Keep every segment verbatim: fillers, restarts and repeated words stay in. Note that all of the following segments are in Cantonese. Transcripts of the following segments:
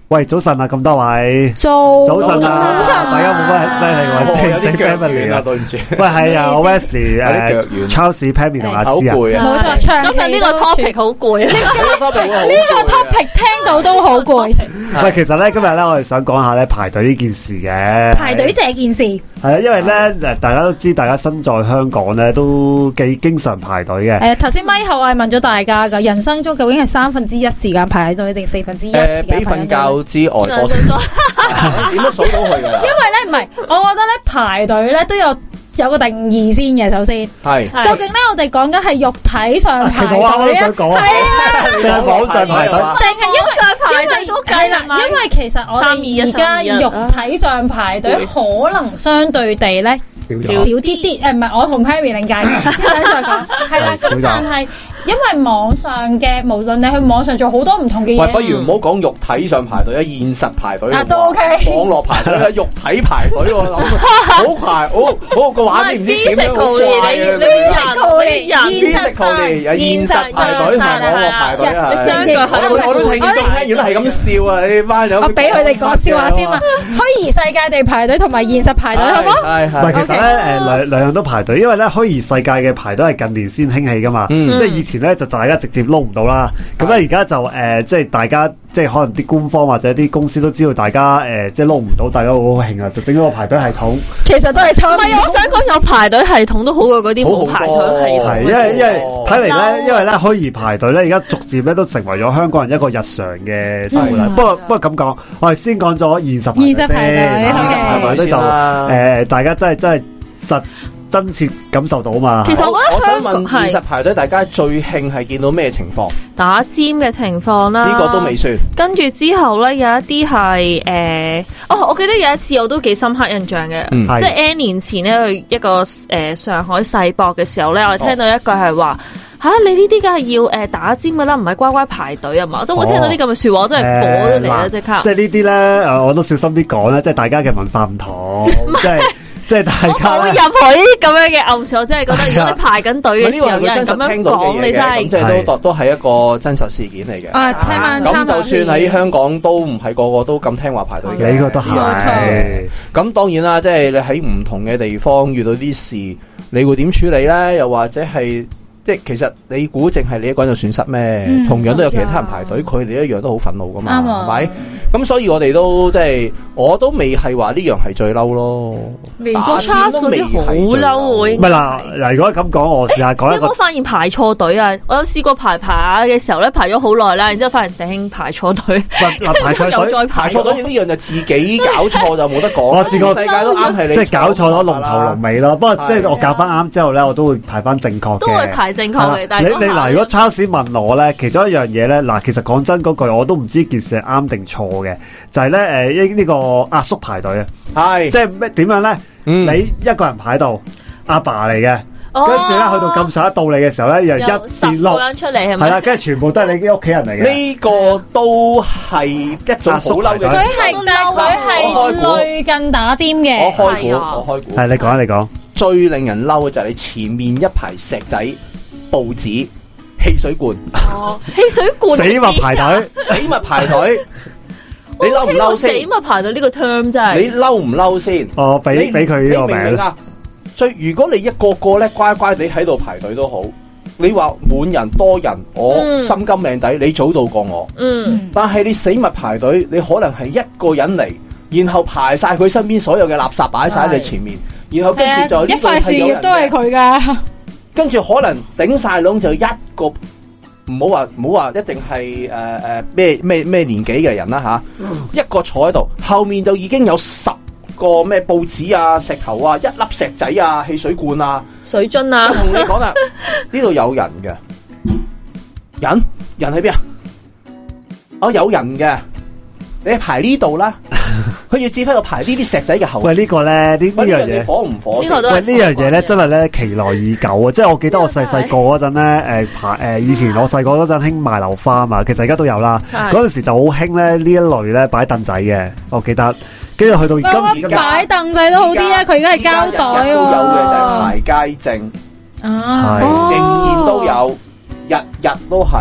喂，早晨啊，咁多位， 早早晨啊， 早晨， 大家冇乜犀利喎， 有啲腳軟啊，對唔住。 喂，係啊，Wesley 誒 ，Charles、Pammy 同阿詩啊， 冇錯，今日呢個 topic 好攰，呢個 topic 呢個 topic 聽到都好攰。 喂，其實咧今日咧我哋想講下咧排隊呢件事嘅， 排隊這件事係啊，因為咧誒大家都知，大家身在香港咧都幾經常排隊嘅。 誒，頭先咪後我係問咗大家噶，人生中究竟係三分之一時間排隊定四分之一時間排隊？ 誒，比瞓覺之外多數，點都數到佢噶啦。 因為咧唔係，我覺得咧排隊咧都有有個定義先嘅。首先係， 究竟咧我哋講緊係肉體上排隊啊， 係啊，定係網上排隊， 定係因為排隊都計啦。因為其實我哋而家肉體上排隊可能相對地咧少啲啲。誒，唔係我同 Pammy 另計，一陣再講。係啦，咁但係。因為網上嘅，無論你去網上做好多唔同嘅嘢， 喂，不如唔好講肉體上排隊啊，現實排隊啊都 OK， 網絡排隊啊，肉體排隊喎，諗好排，好好個畫面唔知點樣好怪啊！現實現實排隊同埋網絡排隊啊，相對我我都聽眾聽，如果係咁笑啊，你班友， 我俾佢哋講笑話先啊！虛擬世界地排隊同埋現實排隊，好唔好？ 係係，其實咧誒兩兩樣都排隊，因為咧虛擬世界嘅排隊係近年先興起噶嘛，即係以前。前咧就大家直接撈唔到啦，咁咧而家就誒、呃，即係大家即係可能啲官方或者啲公司都知道大家誒、呃，即係撈唔到，大家好興啊，就整咗個排隊系統。其實都係差唔多。唔係，我想講有排隊系統都好過嗰啲冇排隊系統。係，因為因為睇嚟咧，因為咧虛擬排隊咧，而家逐漸咧都成為咗香港人一個日常嘅生活啦。不過不過咁講，我哋先講咗現實現實排隊，現實排隊就誒，大家真係真係實。真切感受到嘛？ 其實我覺得我想問現實排隊，大家最興係見到咩情況？ 打尖嘅情況啦， 呢個都未算。跟住之後咧，有一啲係誒，哦，我記得有一次我都幾深刻印象嘅，嗯、即係 N 年前咧去一個誒、呃、上海世博嘅時候咧，我聽到一句係話吓，你呢啲梗係要誒、呃、打尖噶啦，唔係乖乖排隊啊嘛！我都會聽到啲咁嘅說話，我真係火都嚟啦，即刻。 即係呢啲咧，誒，我都小心啲講咧，即係大家嘅文化唔同，即係。即係大家我冇入去咁樣嘅暗示，我真係覺得如果你排緊隊嘅時候，有人咁樣講，你真係即係都都係一個真實事件嚟嘅。 啊，聽晚咁就算喺香港都唔係個個都咁聽話排隊嘅， 呢個都係。 咁當然啦，即係你喺唔同嘅地方遇到啲事，你會點處理咧？又或者係？即係其實你估淨係你一個人就損失咩？嗯、同樣都有其他人排隊，佢哋、嗯、一樣都好憤怒噶嘛，係咪、嗯？咁所以我哋都即係，我都未係話呢樣係最嬲咯。打尖都未係最嬲。 唔係嗱嗱，如果咁講，我試下講一個。 你有冇發現排錯隊啊？我有試過排排嘅時候咧，排咗好耐啦，然之後發現頂排錯隊。 嗱排錯隊， 再排錯隊呢樣就自己搞錯就冇得講。 我試過世界都啱係你， 即係搞錯咗龍頭龍尾咯。不過即係我搞翻啱之後咧，我都會排翻正確嘅。 都會排正確嘅，但係你你嗱，如果超市問我咧，其中一樣嘢咧，嗱，其實講真嗰句，我都唔知件事係啱定錯嘅，就係咧誒呢呢個阿叔排隊啊，係即係咩點樣咧？你一個人排到阿爸嚟嘅，跟住咧去到咁上一到你嘅時候咧，又一跌落出嚟係咪？ 係啦，跟住全部都係你啲屋企人嚟嘅。 呢個都係一種好嬲嘅。 佢係但係佢係類近打尖嘅。 我開估，我開估。 係你講啊，你講。 最令人嬲嘅就係你前面一排石仔。報紙、汽水罐， 哦，汽水罐， 死物排隊， 死物排隊，你嬲唔嬲先？ 死物排隊呢個 term 真係， 你嬲唔嬲先？ 哦，俾俾佢呢個名啊！ 所以如果你一個個咧乖乖地喺度排隊都好，你話滿人多人，我心甘命抵，你早到過我。嗯，但係你死物排隊，你可能係一個人嚟，然後排晒佢身邊所有嘅垃圾擺晒喺你前面，然後跟住就一塊樹葉都係佢噶。 跟住可能頂晒籠就一個，唔好話唔好話一定係誒誒咩咩咩年紀嘅人啦吓，啊嗯、一個坐喺度，後面就已經有十個咩報紙啊、石頭啊、一粒石仔啊、汽水罐啊、 水樽啊， 同你講啦，呢度有人嘅，人人喺邊啊？哦，有人嘅，你排呢度啦。佢要指揮度排呢啲石仔嘅後。喂， 呢個咧，呢呢樣嘢火唔火？ 喂，呢樣嘢咧，真係咧期待已久啊！即係我記得我細細個嗰陣咧，誒排誒以前我細個嗰陣興賣樓花啊嘛，其實而家都有啦。嗰陣時就好興咧呢一類咧擺凳仔嘅，我記得。跟住去到今日擺凳仔都好啲啊！佢而家係膠袋喎。 都有嘅就係排街證， 啊， 仍然都有，日日都係。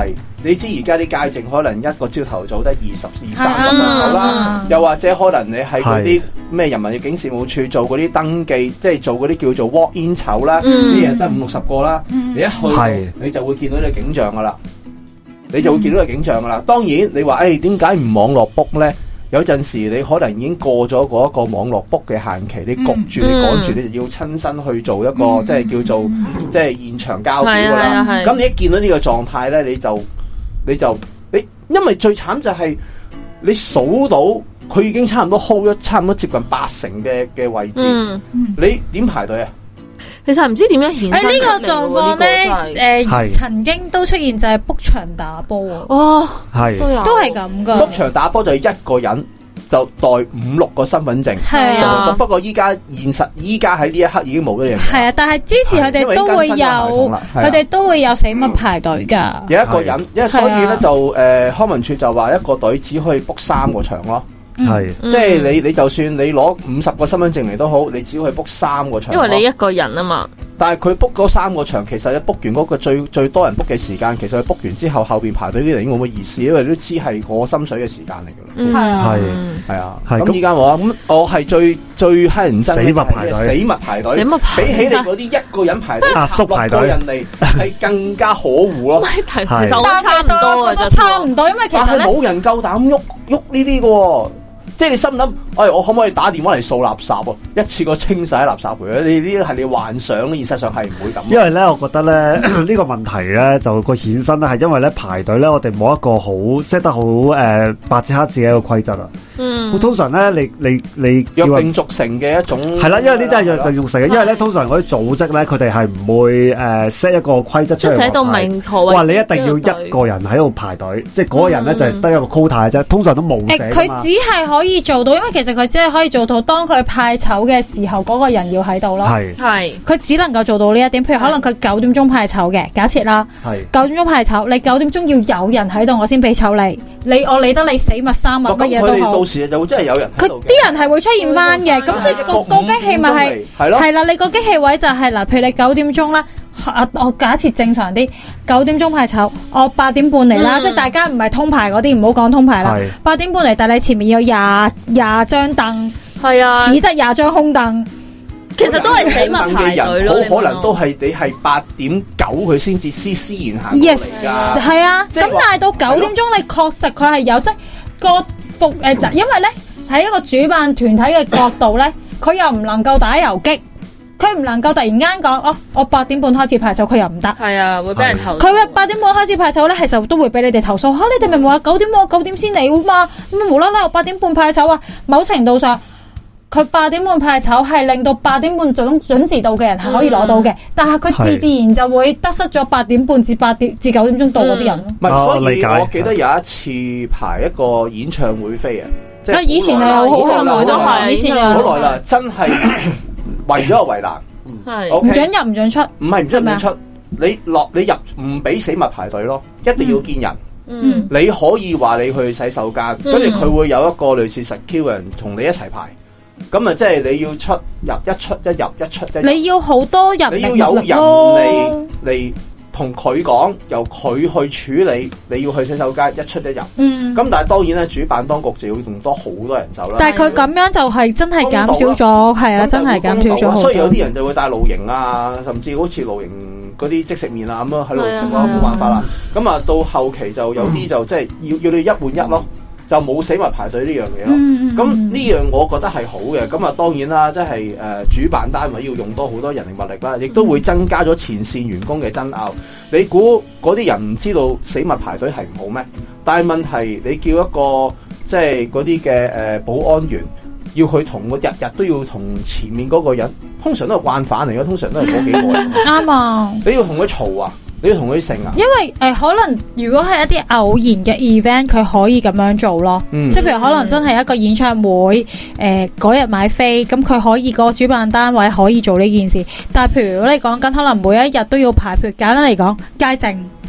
你知而家啲街症可能一個朝頭早得二十二三十人頭啦，又或者可能你喺嗰啲咩人民入境事務處做嗰啲登記，即係做嗰啲叫做 walk in 籌啦，啲人得五六十個啦，你一去你就會見到呢個景象噶啦，你就會見到個景象噶啦。當然你話誒點解唔網絡 book 咧？有陣時你可能已經過咗嗰一個網絡 book 嘅限期，你焗住你趕住，你就要親身去做一個、嗯、即係叫做、嗯、即係現場交表噶啦。咁你一見到呢個狀態咧，你就你就你，因為最慘就係你數到佢已經差唔多 hold 咗差唔多接近八成嘅嘅位置，嗯、你點排隊啊？ 其實唔知點樣顯示。誒，呢個狀況咧，誒，曾經都出現就係 book 場打波啊。 哦， 係都係咁噶。 book 場打波就係一個人就帶五六個身份證。係啊。不過依家現實，依家喺呢一刻已經冇咗呢樣嘢。係啊，但係支持佢哋都會有，佢哋都會有死物排隊噶。 有一個人，因為所以咧就誒，康文署就話一個隊只可以 book 三個場咯。係， 嗯、 即係你你就算你攞五十個身份證嚟都好，你只可以 book 三個場。 因為你一個人啊嘛。 但係佢 book 嗰三個場，其實你 book 完嗰個最最多人 book 嘅時間，其實佢 book 完之後後邊排隊啲人已經冇乜意思，因為你都知係我心水嘅時間嚟噶啦。係係啊，咁依家我咁我係最最乞人憎死物排隊， 死物排隊，比起你嗰啲一個人排隊，十六個人嚟係更加可惡咯。 其實我差唔多啊， 都差唔多，因為其實咧冇人夠膽喐喐呢啲噶。即係你心諗，哎，我可唔可以打電話嚟掃垃圾啊？一次過清晒垃圾佢啊！你呢啲係你幻想，現實上係唔會咁。 因為咧，我覺得咧呢個問題咧就個衍生咧係因為咧排隊咧，我哋冇一個好 set 得好誒白紙黑字嘅一個規則啊。嗯，通常咧，你你你約定俗成嘅一種係啦，因為呢啲係約定俗成嘅，因為咧通常嗰啲組織咧，佢哋係唔會誒 set 一個規則出嚟， 寫到明確。 哇！你一定要一個人喺度排隊，即係嗰個人咧就係得一個 quota 嘅啫，通常都冇寫。 佢只係可以做到，因為其實佢只係可以做到，當佢派籌嘅時候，嗰個人要喺度咯。係係，佢只能夠做到呢一點。譬如可能佢九點鐘派籌嘅，假設啦，係九點鐘派籌，你九點鐘要有人喺度，我先俾籌你。你我理得你死物生物乜嘢都好。 到時就真係有人喺度。 佢啲人係會出現翻嘅，咁所以個個機器咪係係咯，係啦，你個機器位就係嗱，譬如你九點鐘啦。啊！我假設正常啲，九點鐘派籌，我八點半嚟啦，嗯、即係大家唔係通牌嗰啲，唔好講通牌啦。八點半嚟，但係你前面有廿廿張凳，係啊，只得廿張空凳，其實都係死物排隊咯。 好可能都係你係八點九佢先至施施然行過嚟㗎。 係啊，咁但係到九點鐘，你確實佢係有即個服誒，因為咧喺一個主辦團體嘅角度咧，佢又唔能夠打游擊。佢唔能夠突然間講哦，我八點半開始派籌，佢又唔得。係啊，會俾人投訴。佢話八點半開始派籌咧，其實都會俾你哋投訴。吓、啊，你哋明明話九點我九點先嚟嘛，咁無啦啦我八點半派籌啊。某程度上，佢八點半派籌係令到八點半準準時到嘅人係可以攞到嘅，嗯、但係佢自自然就會得失咗八點半至八點至九點鐘到嗰啲人咯。 唔係、嗯，所以我記得有一次排一個演唱會飛啊，即係以前係好耐都係，以前好耐啦，真係。為咗個圍欄， 係唔准入唔准出， 唔係唔准唔准出，你落你入唔俾死物排隊咯，一定要見人。嗯，你可以話你去洗手間，跟住佢會有一個類似 security 人同你一齊排，咁啊即係你要出入一出一入一出一入， 你要好多人， 你要有人嚟嚟。同佢講，由佢去處理，你要去洗手間一出一入。嗯，咁但係當然咧，主辦當局就要用多好多人手啦。 但係佢咁樣就係真係減少咗，係啊，真係減少咗好多。 所以有啲人就會帶露營啊，甚至好似露營嗰啲即食麵啊咁樣喺度食咯，冇辦法啦。咁啊，到後期就有啲就即係要要你一換一咯。就冇死物排隊呢樣嘢咯，咁呢、嗯、樣我覺得係好嘅。咁啊當然啦，即係誒主辦單位要用多好多人力物力啦，亦都會增加咗前線員工嘅爭拗。你估嗰啲人唔知道死物排隊係唔好咩？但係問題你叫一個即係嗰啲嘅誒保安員要去同個日日都要同前面嗰個人，通常都係慣犯嚟嘅，通常都係嗰幾個人。啱啊！你要同佢嘈啊！你要同佢成啊？ 因為誒、呃，可能如果係一啲偶然嘅 event，佢可以咁樣做咯。嗯、即係譬如可能真係一個演唱會，誒嗰日買飛，咁佢可以個主辦單位可以做呢件事。但係譬如如果你講緊可能每一日都要排，譬如簡單嚟講，街政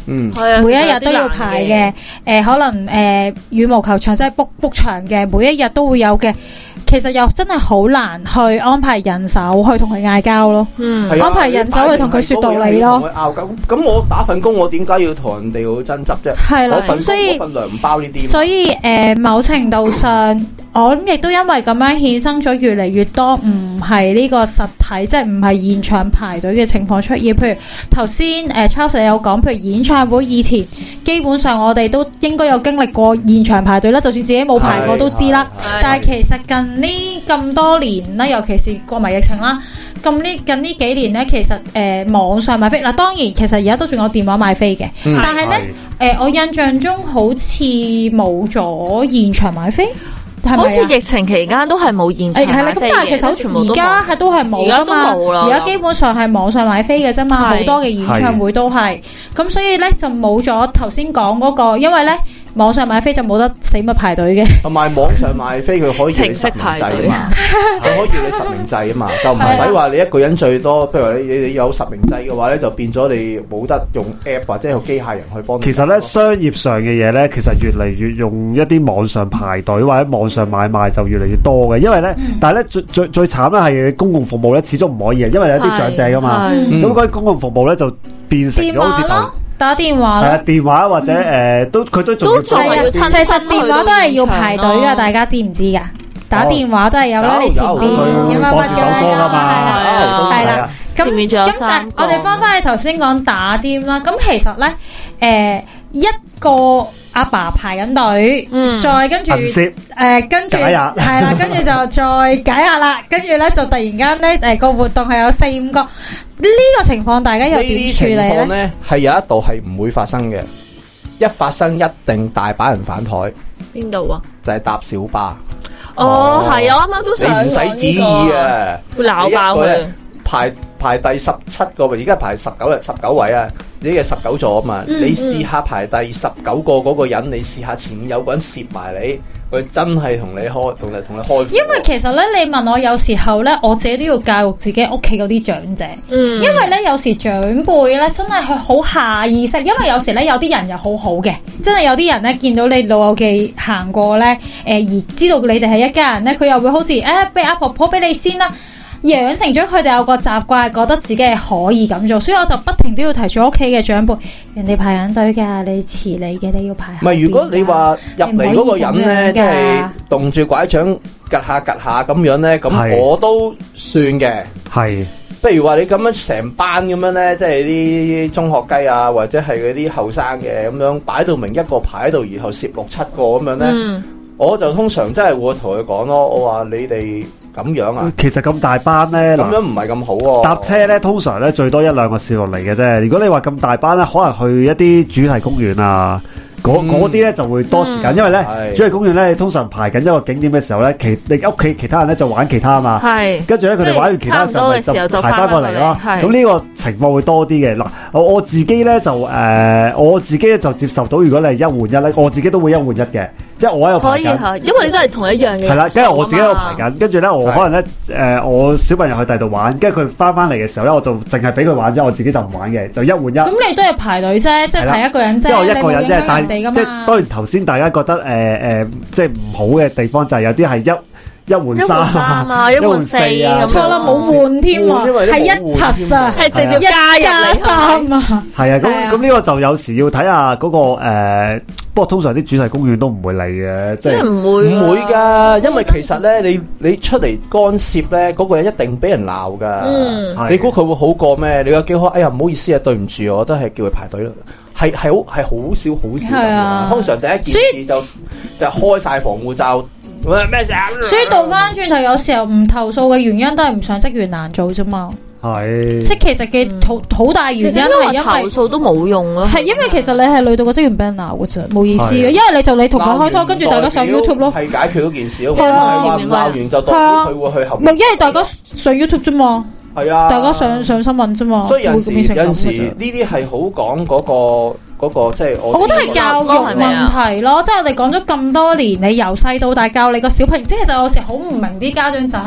嗯，每一日都要排嘅，誒、呃，可能誒、呃、羽毛球場即係 book book 場嘅，每一日都會有嘅。其實又真係好難去安排人手去同佢嗌交咯，嗯，安排人手去同佢說道理咯。 咁咁我打份工，我點解要同人哋去爭執啫？係啦，咁所以份糧唔包呢啲。 所以誒、呃，某程度上，我諗亦都因為咁樣衍生咗越嚟越多唔係呢個實體，即係唔係現場排隊嘅情況出現。譬如頭先誒 Charles 你有講，譬如演唱會以前，基本上我哋都應該有經歷過現場排隊啦，就算自己冇排過都知啦。但係其實近呢咁多年啦，尤其是過埋疫情啦，咁呢近呢幾年咧，其實誒、呃、網上買飛嗱，當然其實而家都仲有電話買飛嘅，嗯、但係咧誒，我印象中好似冇咗現場買飛。好似疫情期間都係冇現場買飛嘅，但係其實全部而家係都係冇噶嘛，而家基本上係網上買飛嘅啫嘛，好多嘅演唱會都係，咁所以咧就冇咗頭先講嗰個，因為咧網上買飛就冇得死密排隊嘅， 同埋網上買飛佢可以程式排隊啊嘛，佢可以你實名制啊嘛，就唔使話你一個人最多，譬如話你你你有實名制嘅話咧，就變咗你冇得用 app 或者用機械人去幫你。其實咧商業上嘅嘢咧，其實越嚟越用一啲網上排隊或者網上買賣就越嚟越多嘅，因為咧，嗯、但係咧最最最慘咧係公共服務咧，始終唔可以嘅，因為有啲長者噶嘛，咁嗰啲公共服務咧就變成咗好似頭。 打電話咯，係啊，電話或者誒、呃，都佢都仲要做啊。其實電話都係要排隊噶，大家知唔知噶？打電話都係有啦，你前邊有乜乜嘅啦，係啦。咁咁但我哋翻翻去頭先講打尖啦。咁其實咧，誒、呃、一個阿爸排緊隊，嗯、再跟住誒、呃、跟住係啦，跟住就再解壓啦。跟住咧就突然間咧誒個活動係有四五個。呢個情況大家又點處理咧？呢係有一度係唔會發生嘅，一發生一定大把人反台。 邊度啊？ 就係搭小巴。 哦，係啊，啱啱都想。 你唔使旨意啊， 會鬧爆佢。 排排第十七個位，而家排十九日十九位啊，自己嘅十九座啊嘛。嗯嗯，你試下排第十九個嗰個人，你試下前面有個人攝埋你。佢真係同你開，同你同你開。 因為其實咧，你問我有時候咧，我自己都要教育自己屋企嗰啲長者。嗯。因為咧，有時長輩咧，真係佢好下意識。因為有時咧，有啲人又好好嘅，真係有啲人咧，見到你老友記行過咧，誒、呃、而知道你哋係一家人咧，佢又會好似誒，俾、哎、阿婆婆俾你先啦。養成咗佢哋有個習慣，覺得自己係可以咁做，所以我就不停都要提住屋企嘅長輩，人哋排緊隊㗎，你遲你嘅你要排。唔係， 如果你話入嚟嗰個人咧，即係動住拐杖趌下趌下咁樣咧，咁我都算嘅。係，不如話你咁樣成班咁樣咧，即係啲中學雞啊，或者係嗰啲後生嘅咁樣擺到明一個排喺度，然後攝六七個咁樣咧，嗯、我就通常真係會同佢講咯，我話你哋。咁樣啊？其實咁大班咧，咁樣唔係咁好喎。搭車咧，通常咧最多一兩個試落嚟嘅啫。如果你話咁大班咧，可能去一啲主題公園啊，嗰嗰啲咧就會多時間，嗯、因為咧是主題公園咧，你通常排緊一個景點嘅時候咧，其你屋企其他人咧就玩其他啊嘛。係是。跟住咧，佢哋玩完其他嘅時候，就就排翻過嚟咯。咁呢個情況會多啲嘅。嗱，我我自己咧就誒、呃，我自己就接受到，如果你係一換一咧，我自己都會一換一嘅。即係我喺度排緊，因為你都係同一樣嘅。係啦，跟住我自己喺度排緊，跟住咧我可能咧誒、呃，我小朋友去第度玩，跟住佢翻翻嚟嘅時候咧，我就淨係俾佢玩啫，我自己就唔玩嘅，就一換一。咁你都係排隊啫，即係排一個人啫，即係我一個人啫，但係即係當然頭先大家覺得誒誒、呃呃，即係唔好嘅地方就係有啲係一。一換三啊，一換四啊，錯啦，冇換添啊，係一拍啊，係直接加加三啊，係啊，咁咁呢個就有時要睇下嗰個誒，不過通常啲主題公園都唔會嚟嘅，即係唔會唔會噶，因為其實咧，你你出嚟干涉咧，嗰個人一定俾人鬧噶，嗯，你估佢會好過咩？你有幾好？哎呀，唔好意思啊，對唔住，我都係叫佢排隊咯，係係好係好少好少咁樣，通常第一件事就就開晒防護罩。咩事啊？所以倒翻轉頭，有時候唔投訴嘅原因都係唔想職員難做啫嘛。係，即係其實嘅好好大原因係因為投訴都冇用咯。係因為其實你係累到個職員俾人鬧嘅啫，冇意思嘅。因為你就你同佢開拖，跟住大家上 YouTube 咯，係解決嗰件事咯。係啊，鬧完就代表佢會去後面。唔係，因為大家上 YouTube 啫嘛。係啊，大家上上新聞啫嘛。所以有陣時有陣時呢啲係好講嗰個。嗰個即係我，我覺得係教育問題咯。即係我哋講咗咁多年，你由細到大教你個小朋友，即係其實有時好唔明啲家長就係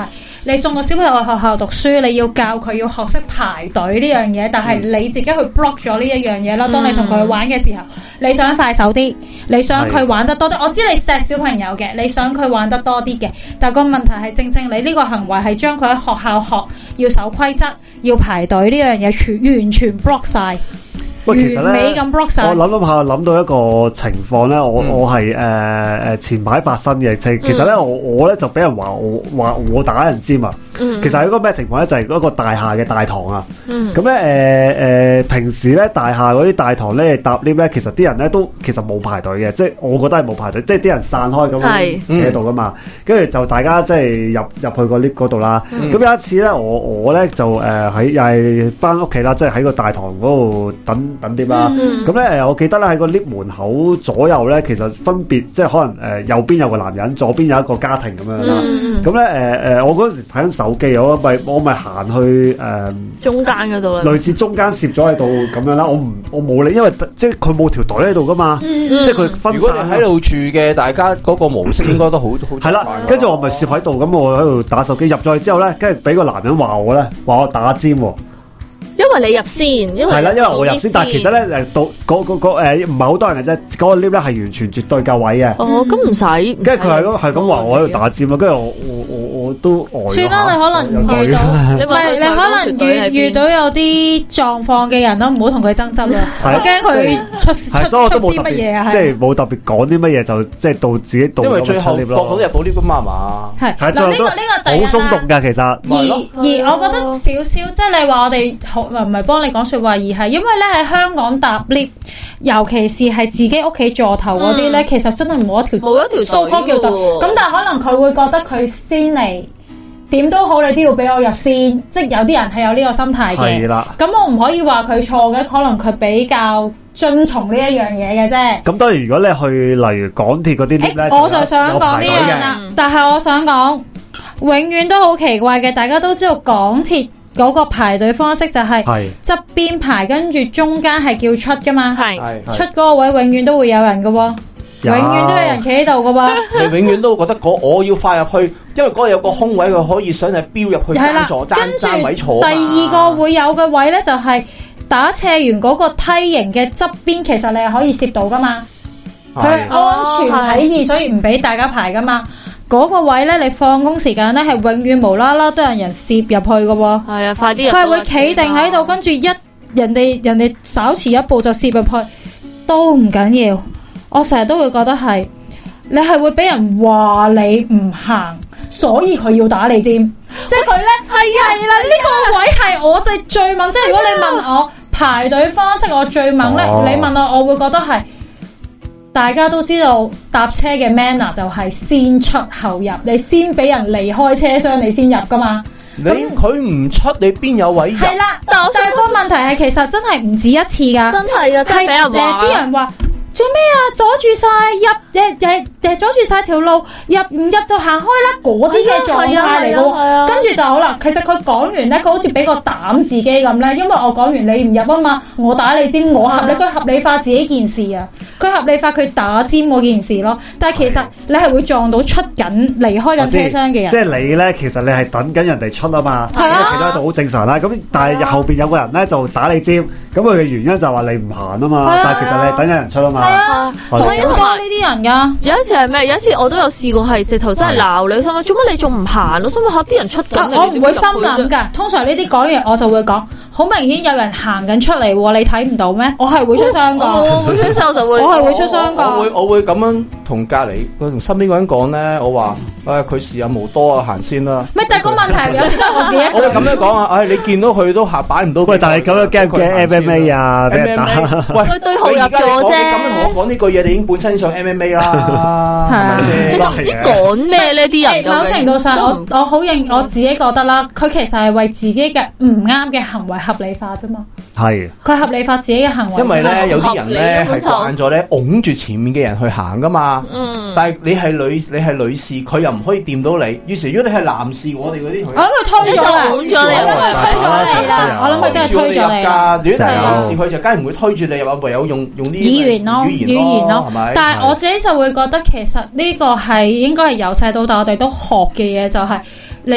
你送個小朋友去學校讀書，你要教佢要學識排隊呢樣嘢，但係你自己去 block 咗呢一樣嘢啦。當你同佢玩嘅時候，你想快手啲，你想佢玩得多啲。我知你錫小朋友嘅，你想佢玩得多啲嘅，但個問題係正正你呢個行為係將佢喺學校學要守規則、要排隊呢樣嘢，全完全 block 晒。 喂，其實咧，我諗諗下諗到一個情況咧，我、嗯、我係誒誒前排發生嘅，其其實咧、嗯、我我咧就俾人話我話我打人尖啊。嗯、其實係嗰個咩情況咧？就係、是、嗰個大廈嘅大堂啊。咁咧誒誒，平時咧大廈嗰啲大堂咧搭 lift 咧，其實啲人咧都其實冇排隊嘅，即係我覺得係冇排隊，即係啲人散開咁樣企喺度噶嘛。跟住、嗯、就大家即係入入去個 lift 嗰度啦。咁、嗯、有一次咧，我我咧就誒喺又係翻屋企啦，即係喺個大堂嗰度等等 lift 啦。咁咧誒，我記得咧喺個 lift 門口左右咧，其實分別即係可能誒右邊有個男人，左邊有一個家庭咁樣啦。咁咧誒誒，我嗰陣時睇緊手機，我咪我咪行去誒、呃、中間嗰度啦，類似中間攝咗喺度咁樣啦。我唔我冇理，因為即係佢冇條隊喺度噶嘛，嗯、即係佢分散。如果你喺度住嘅，大家嗰個模式應該都好好。係啦，跟住我咪攝喺度，咁我喺度打手機入咗去之後咧，跟住俾個男人話我咧，話我打尖喎。 因為你入先，因為係啦，因為我入先，但係其實咧誒，到嗰嗰嗰誒唔係好多人嘅啫，嗰、嗰個 lift 咧係完全絕對夠位嘅。 哦，咁唔使。跟住佢係咁係咁話我喺度打尖咯，跟住我我我我都呆。算啦，你可能遇到，唔係你可能遇遇到有啲狀況嘅人咯，唔好同佢爭執啦。我驚佢出出出啲乜嘢啊？ 即係冇特別講啲乜嘢，就即係到自己到。 因為最後博到入到 lift 噶嘛嘛。 係嗱，呢個呢個第一啦。 好鬆動㗎，其實。 而而我覺得少少，即係你話我哋好唔係幫你講說話，而係因為咧喺香港搭 lift，尤其是係自己屋企座頭嗰啲咧，其實真係冇一條冇一條數科叫隊。咁但係可能佢會覺得佢先嚟，點都好，你都要俾我入先。即係有啲人係有呢個心態嘅。係啦。咁我唔可以話佢錯嘅，可能佢比較遵從呢一樣嘢嘅啫。咁當然，如果你去例如港鐵嗰啲 lift 咧， 我就想講呢樣啦。但係我想講，永遠都好奇怪嘅，大家都知道港鐵嗰個排隊方式就係側邊排，跟住中間係叫出噶嘛，係出嗰個位永遠都會有人噶，永遠都有人企喺度噶。 你永遠都會覺得嗰我要快入去，因為嗰度有個空位，佢可以想係飆入去爭座爭爭位坐。第二個會有嘅位咧，就係打斜完嗰個梯形嘅側邊，其實你係可以攝到噶嘛，佢係安全起見，所以唔俾大家排噶嘛。嗰個位咧，你放工時間咧係永遠無啦啦都有人攝入去嘅喎。係啊，快啲！佢係會企定喺度，跟住一人哋人哋稍遲一步就攝入去，都唔緊要。我成日都會覺得係你係會俾人話你唔行，所以佢要打你尖。即係佢咧係啊係啦，呢個位係我就最問。即係如果你問我排隊方式，我最問咧，哦、你問我，我會覺得係。大家都知道搭車嘅 manner 就係先出後入，你先俾人離開車廂，你先入噶嘛。你佢唔出，你邊有位入？ 係啦，但係個問題係其實真係唔止一次噶，真係啊，真係俾人話。啲人話做咩啊？阻住晒入誒誒誒，阻住晒條路，入唔入就行開啦。嗰啲嘅狀態嚟嘅，跟住就好啦。其實佢講完咧，佢好似俾個膽自己咁咧，因為我講完你唔入啊嘛，我打你尖，我合理，佢合理化自己件事啊。佢合理化佢打尖嗰件事咯，但係其實你係會撞到出緊離開緊車廂嘅人。即係你咧，其實你係等緊人哋出啊嘛，係啊，其他度好正常啦。咁但係後邊有個人咧就打你尖，咁佢嘅原因就話你唔行啊嘛。但係其實你係等緊人出啊嘛。係啊， 好多呢啲人噶。有一次係咩？有一次我都有試過係直頭真係鬧你，心諗做乜你仲唔行？我心諗吓啲人出緊，我唔會心諗噶。通常呢啲講完我就會講，好明顯有人行緊出嚟，你睇唔到咩？我係會出聲噶，我會出聲我就會。我係會出聲噶， 我會我會咁樣同隔籬佢同身邊嗰人講咧，我話誒佢時日無多啊，行先啦。 咪但係個問題有時得我自己。 我會咁樣講啊，誒你見到佢都下擺唔到。 喂，但係咁樣驚唔驚 M M A 啊？俾人打。 喂，佢對號入座啫。你咁樣同我講呢句嘢，你已經本身上 M M A 啦，係咪先？ 其實唔知講咩呢啲人。 某程度上，我我好認我自己覺得啦，佢其實係為自己嘅唔啱嘅行為合理化啫嘛。係。佢合理化自己嘅行為。 因為咧，有啲人咧係慣咗咧，擁住前面嘅人去行噶嘛。嗯。但係你係女，你係女士，佢又唔可以掂到你。於是如果你係男士，我哋嗰啲同學， 我諗佢推咗啦，推咗你啦。我諗佢真係推咗你。如果係男士，佢就梗係唔會推住你入，唯有用用啲語言咯，語言咯，係咪？但係我自己就會覺得，其實呢個係應該係由細到大我哋都學嘅嘢，就係你。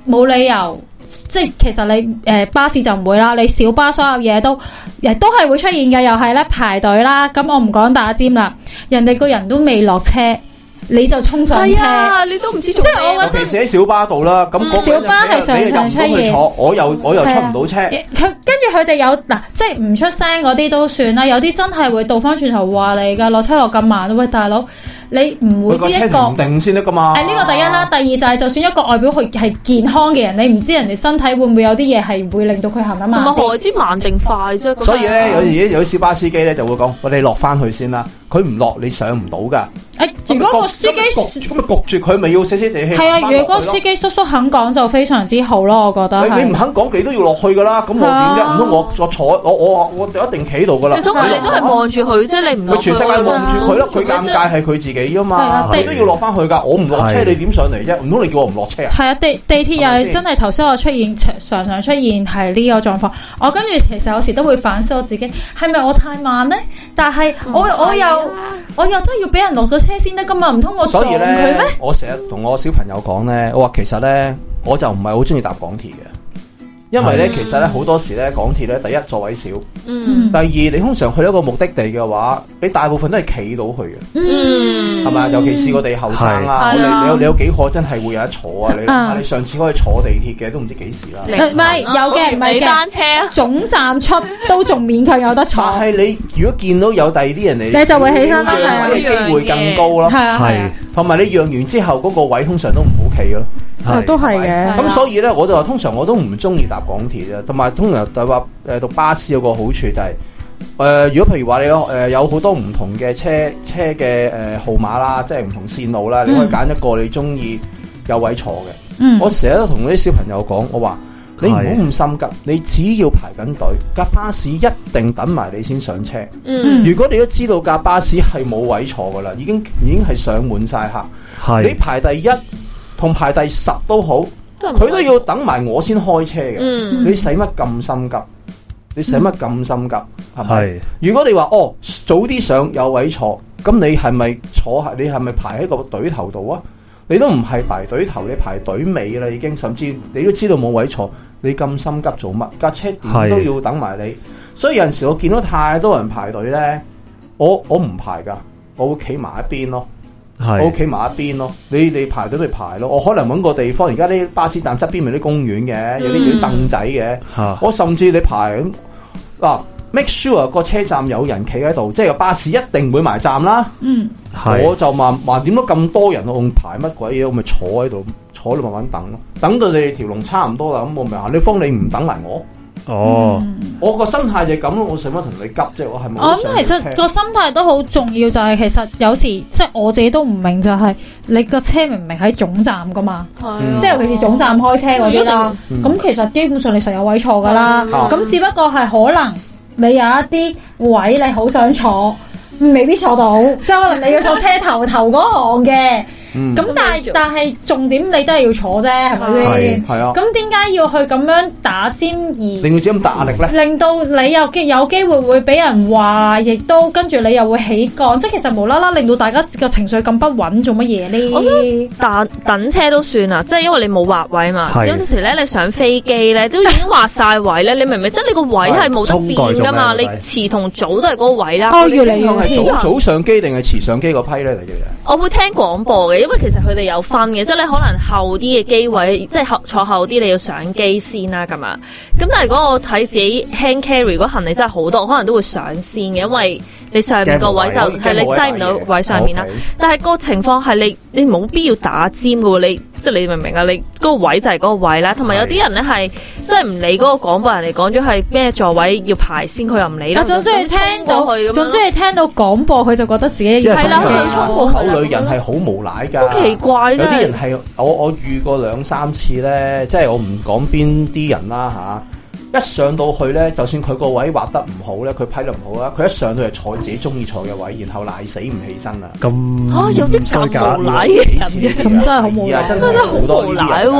冇理由。即係其實你誒、呃、巴士就唔會啦，你小巴所有嘢都亦都係會出現嘅，又係咧排隊啦。咁我唔講打尖啦，人哋個人都未落車，你就衝上車， 啊、你都唔知做咩。 即係我覺得， 尤其是喺小巴度啦，咁、嗯、小巴係常常出現，我又我又出唔到車。 佢跟住佢哋有嗱，即係唔出聲嗰啲都算啦，有啲真係會倒翻轉頭話你噶，落車落咁慢，喂大佬。你唔會知一個定先得噶嘛？ 誒呢個第一啦，第二就係就算一個外表佢係健康嘅人，你唔知人哋身體會唔會有啲嘢係會令到佢行得慢啲？ 何知慢定快啫？ 所以咧，有時有啲小巴司機咧就會講：我哋落翻去先啦。佢唔落，你上唔到噶。 誒，如果個司機咁咪焗住佢，咪要死死地氣。 係啊，如果司機叔叔肯講就非常之好咯，我覺得。 你唔肯講，你都要落去噶啦。咁我點啫？唔通我我坐我我我一定企度噶啦。 其實你都係望住佢啫，你唔。 佢全世界望住佢咯，佢尷尬係佢自己噶嘛。你都要落翻去噶，我唔落車，你點上嚟啫？唔通你叫我唔落車啊？ 係啊，地地鐵又係真係頭先我出現常常出現係呢個狀況。我跟住其實有時都會反思我自己，係咪我太慢咧？但係我我又我又真係要俾人落咗車先得噶嘛？唔通我撞佢咩？ 我成日同我小朋友講咧，我話其實咧，我就唔係好中意搭港鐵嘅。因為咧，嗯、其實咧好多時咧，港鐵咧，第一座位少，嗯，第二你通常去一個目的地嘅話，你大部分都係企到去嘅，嗯，係咪？尤其是我哋後生啊，你你有你有幾可真係會有得坐啊？你、啊、你上次可以坐地鐵嘅都唔知幾時啦， 唔係有嘅，唔係單車總站出都仲勉強有得坐。 但係你如果見到有第二啲人嚟， 你就會起身啦， 係機會更高咯，係啊，係，同埋你讓完之後嗰個位通常都唔好企咯。 係都係嘅， 咁所以咧，我就話通常我都唔中意搭港鐵啊，同埋通常就話誒，讀巴士有個好處就係、是、誒、呃，如果譬如話你有誒有好多唔同嘅車車嘅誒號碼啦，即係唔同線路啦，嗯、你可以揀一個你中意有位坐嘅。嗯，我成日都同啲小朋友講，我話你唔好咁心急，你只要排緊隊，架巴士一定等埋你先上車。嗯，如果你都知道架巴士係冇位坐噶啦，已經已經係上滿晒客，係你排第一。同排第十都好，佢都要等埋我先開車嘅。嗯、你使乜咁心急？你使乜咁心急？係咪、嗯？如果你話哦早啲上有位坐，咁你係咪坐？你係咪排喺個隊頭度啊？你都唔係排隊頭，你排隊尾啦已經。甚至你都知道冇位坐，你咁心急做乜？架車點都要等埋你。是所以有陣時我見到太多人排隊咧，我我唔排噶，我會企埋一邊咯。係，我企埋一邊咯，你哋排隊咪排咯，我可能搵個地方，而家啲巴士站側邊咪啲公園嘅，有啲有啲凳仔嘅，嗯、我甚至你排咁嗱、啊、，make sure 個車站有人企喺度，即係個巴士一定會埋站啦。嗯，我就慢慢點解咁多人我排乜鬼嘢，我咪坐喺度，坐喺度慢慢等咯，等到你哋條龍差唔多啦，咁我咪行，你方你唔等埋我。哦，嗯、我個心態就咁咯，我使乜同你急啫？我係冇。我諗其實個心態都好重要，就係、是、其實有時即係我自己都唔明，就係你個車明明喺總站噶嘛，嗯、即係尤其是總站開車嗰啲啦。咁、嗯、其實基本上你實有位坐噶啦，咁、嗯、只不過係可能你有一啲位你好想坐，未必坐到，即係可能你要坐車頭頭嗰行嘅。咁、嗯、但係但係重點你都係要坐啫，係咪先？係啊。咁點解要去咁樣打尖而令到自己咁大壓力咧？ 令到你有機有機會會俾人話，亦都跟住你又會起槓，即係其實無啦啦令到大家個情緒咁不穩，做乜嘢咧？ 我覺得等等車都算啦，即係因為你冇劃位嘛。是有陣時咧，你上飛機咧都已經劃晒位咧，你明唔明？即係你個位係冇得變噶嘛？你遲同早都係嗰個位啦。 哦，越嚟越係早早上機定係遲上機嗰批咧嚟嘅。 我會聽廣播嘅。因為其實佢哋有分嘅，即係你可能後啲嘅機位，即係後坐後啲，你要上機先啦，咁啊。咁但係如果我睇自己 hand carry，如果行李真係好多，我可能都會上先嘅，因為你上面個位就係你擠唔到位上面啦。但係個情況係你你冇必要打尖嘅喎，你即係你明唔明啊？你嗰個位就係嗰個位啦。同埋有啲人咧係即係唔理嗰個廣播人嚟講咗係咩座位要排先，佢又唔理啦。 總之係聽到，總之係聽到廣播，佢就覺得自己係啦，佢要衝過去。 口女人係好無賴㗎， 好奇怪。 有啲人係我我遇過兩三次咧，即係我唔講邊啲人啦吓。一上到去咧，就算佢個位畫得唔好咧，佢批得唔好啦，佢一上到係坐自己中意坐嘅位，然後賴死唔起身啦。咁啊，有啲咁無賴嘅人， 咁真係好無賴， 真係好多呢啲人。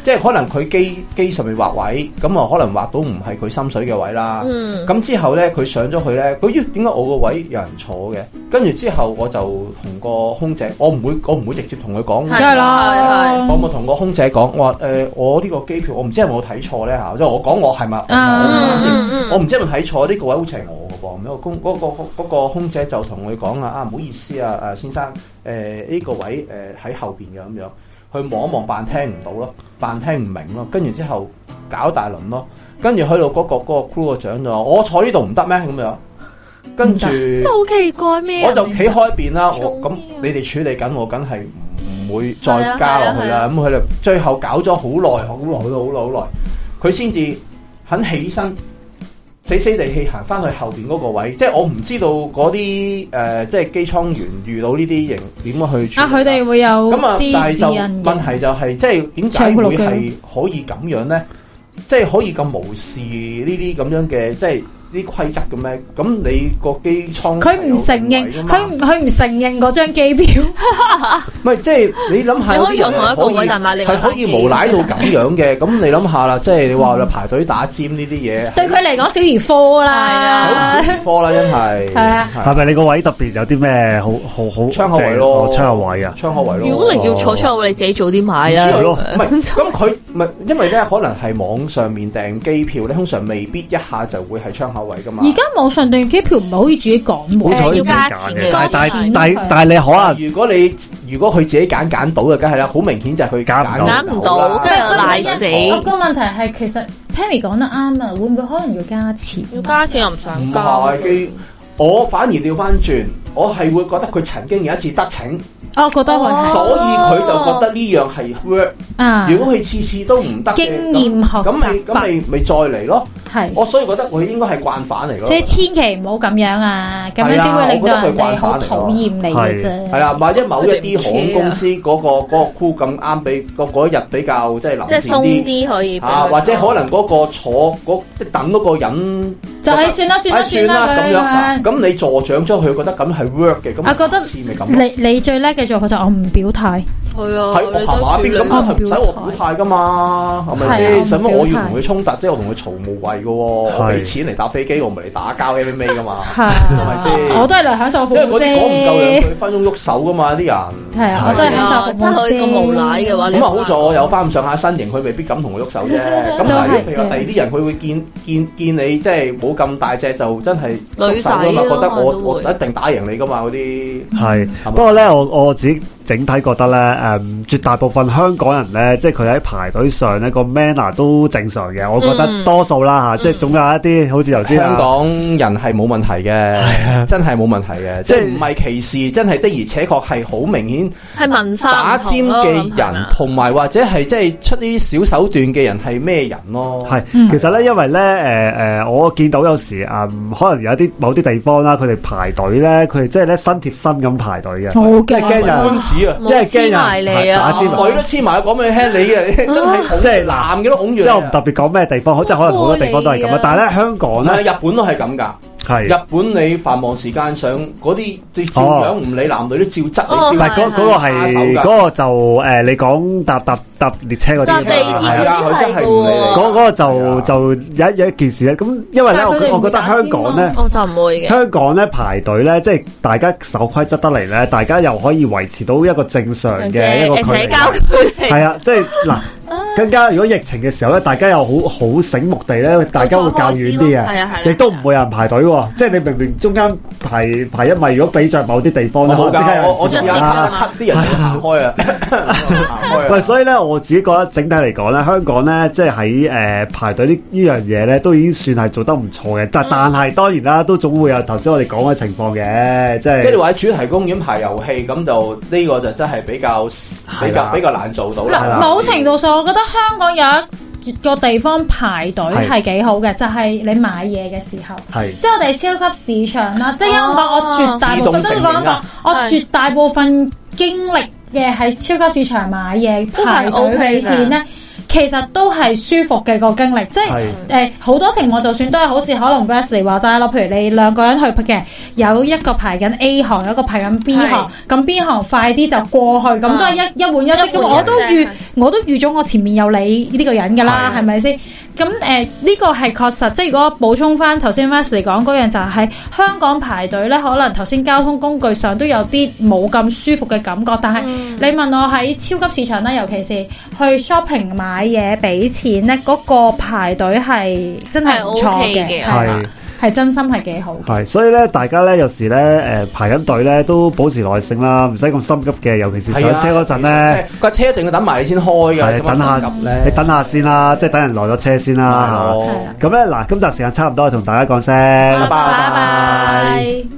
即係可能佢機機上面畫位，咁啊可能畫到唔係佢心水嘅位啦。咁、嗯、之後咧，佢上咗去咧，佢咦點解我個位有人坐嘅？跟住之後我就同個空姐，我唔會我唔會直接同佢講， 梗係啦， 我冇同個空姐講，我話誒、呃、我呢個機票我唔知係咪我睇錯咧嚇，即係我講我係咪？我唔知係咪睇錯呢個位好似係我嘅噃。咁個空嗰、嗰個嗰個空姐就同佢講啊，啊唔好意思啊，誒先生誒呢、呃呢個位誒喺、呃、後邊嘅咁樣。去望一望，扮聽唔到咯，扮聽唔明咯，跟住之後搞大輪咯，跟住去到嗰個嗰個 crew 個長就話：我坐呢度唔得咩？咁樣，跟住真係好奇怪咩？ 我就企開一邊啦。我咁你哋處理緊，我梗係唔會再加落去啦。咁佢哋最後搞咗好耐，好耐，好耐，好耐，好耐，佢先至肯起身。死死地氣行翻去後邊嗰個位，即係我唔知道嗰啲誒，即係機艙員遇到呢啲型點樣去處理啊？佢哋會有咁啊，但係就問題就係、是，即係點解會係可以咁樣咧？即係可以咁無視呢啲咁樣嘅，即係。啲規則嘅咩？咁你個機艙佢唔承認，佢佢唔承認嗰張機票。 唔係，即係你諗下， 可以同一個位，但係係可以無賴到咁樣嘅。咁你諗下啦，即係你話排隊打尖呢啲嘢， 對佢嚟講小兒科啦， 好小兒科啦，真係。係啊， 係咪你個位特別有啲咩好好好窗口位咯？ 窗口位啊， 窗口位咯。 如果你要坐窗口位，你自己早啲買啦。 唔係，咁佢唔係因為咧，可能係網上面訂機票咧，通常未必一下就會係窗口位噶嘛。 而家網上訂機票唔係可以自己講喎， 好要加錢嘅。但但但但係你可能， 如果你如果佢自己揀揀到嘅，梗係啦，好明顯就係佢揀唔到，跟住賴死。 個問題係其實 Pammy 講得啱啊，會唔會可能要加錢？ 要加錢又唔想加。 唔係，我反而調翻轉，我係會覺得佢曾經有一次得逞。 我覺得係， 所以佢就覺得呢樣係 work。啊，如果佢次次都唔得嘅， 經驗學習， 咁咪咁咪咪再嚟咯。 係， 我所以覺得佢應該係慣犯嚟咯。 所以千祈唔好咁樣啊，咁樣只會令到人哋好討厭你嘅啫。係啦，萬一某一啲航空公司嗰個嗰個 crew 咁啱，俾個嗰一日比較即係臨時啲， 可以啊，或者可能嗰個坐嗰等嗰個人就係算啦，算啦，算啦咁樣。咁你助長咗佢，覺得咁係 work 嘅，咁我覺得你你最叻嘅做法就我唔表態。係啊， 喺我行馬邊咁都係唔使我表態噶嘛，係咪先？使乜我要同佢衝突？即係我同佢嘈無謂嘅，我俾錢嚟搭飛機，我唔係嚟打交 M M A 噶嘛，係咪先？ 我都係嚟享受服務啫。 因為嗰啲講唔夠兩句分鐘喐手噶嘛，啲人係啊，我都係享受服務啫。 真係咁無賴嘅話， 咁啊好在我有翻咁上下身形，佢未必敢同我喐手啫。咁但係譬如話第二啲人，佢會見見見你即係冇咁大隻，就真係喐手噶嘛，覺得我我一定打贏你噶嘛嗰啲。係， 不過咧，我我自己整體覺得咧，誒，絕大部分香港人咧，即係佢喺排隊上咧個 manner 都正常嘅，我覺得多數啦吓，即係總有一啲好似頭先香港人係冇問題嘅，真係冇問題嘅，即係唔係歧視，真係的而且確係好明顯係文化打尖嘅人，同埋或者係即係出啲小手段嘅人係咩人咯？ 係，其實咧，因為咧，誒誒，我見到有時啊，可能有啲某啲地方啦，佢哋排隊咧，佢哋即係咧身貼身咁排隊嘅， 即係驚人官子啊， 因為驚人打尖， 我都黐埋講俾你聽，你啊真係即係男嘅都拱住， 即係我唔特別講咩地方，即係可能好多地方都係咁啊，但係咧香港咧， 日本都係咁噶。係日本你繁忙時間上嗰啲，你照樣唔理男女都照執，你照。 但係嗰嗰個係嗰個就誒，你講搭搭搭列車嗰啲係啊，佢真係唔理你。 嗰嗰個就就有有一件事咧，咁因為咧，我我覺得香港咧， 我就唔會嘅。香港咧排隊咧，即係大家守規則得嚟咧，大家又可以維持到一個正常嘅一個距離。 社交距離。 係啊，即係嗱。更加如果疫情嘅時候咧，大家又好好醒目地咧，大家會較遠啲嘅，亦都唔會有人排隊喎。即係你明明中間排排一米，如果比著某啲地方咧， 我我我試下啲人行開啊，行開。 喂，所以咧，我自己覺得整體嚟講咧，香港咧，即係喺誒排隊呢呢樣嘢咧，都已經算係做得唔錯嘅。但但係當然啦，都總會有頭先我哋講嘅情況嘅，即係。即係你話喺主題公園排遊戲，咁就呢個就真係比較比較比較難做到啦。 某程度上，我覺得。香港有一個地方排隊係幾好嘅，就係你買嘢嘅時候，即係我哋超級市場啦。即係因為我絕大部分都講過，我絕大部分經歷嘅係超級市場買嘢排隊俾錢咧。其實都係舒服嘅個經歷，即係誒好多情況，就算都係好似可能 Wesley 話齋咯，譬如你兩個人去嘅，有一個排緊 A 行，有一個排緊 B 行，咁 B 行快啲就過去，咁都係一一換一色嘅。我都遇我都預咗我前面有你呢個人噶啦，係咪先？咁誒呢個係確實，即係如果補充翻頭先 Wesley 講嗰樣，就係香港排隊咧，可能頭先交通工具上都有啲冇咁舒服嘅感覺，但係你問我喺超級市場咧，尤其是去 shopping 買嘢俾錢咧，嗰、嗰個排隊係真係唔錯嘅，係係真心係幾好。 係，所以咧，大家咧有時咧誒排緊隊咧都保持耐性啦，唔使咁心急嘅，尤其是上車嗰陣咧， 個車一定要等埋你先開嘅， 等下你等下先啦，即係等人來咗車先啦。咁咧嗱，今集時間差唔多，同大家講聲，拜拜。